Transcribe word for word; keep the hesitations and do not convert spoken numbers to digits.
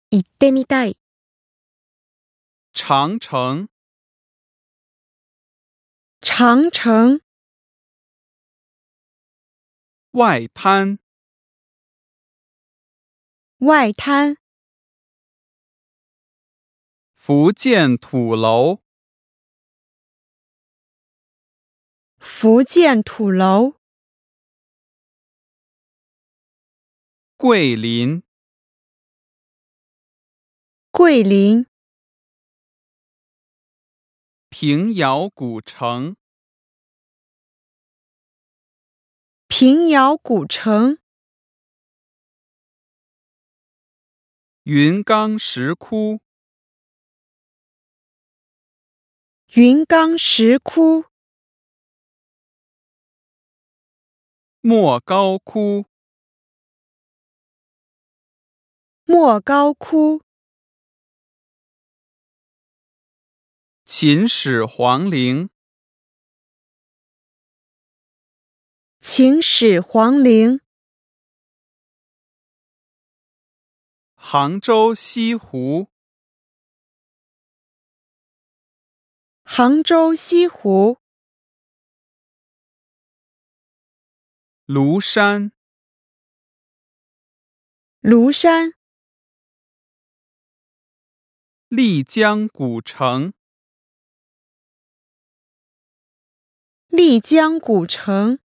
行ってみたい。 长城。 长城。 外滩。 外滩。 福建土楼。 福建土楼。 桂林。 桂林。 平遥古城。 平遥古城。 云冈石窟。 云冈石窟。 莫高窟。 莫高窟。 秦始皇陵。 秦始皇陵。 杭州西湖。 杭州西湖。 庐山。 庐山。 丽江古城。 丽江古城。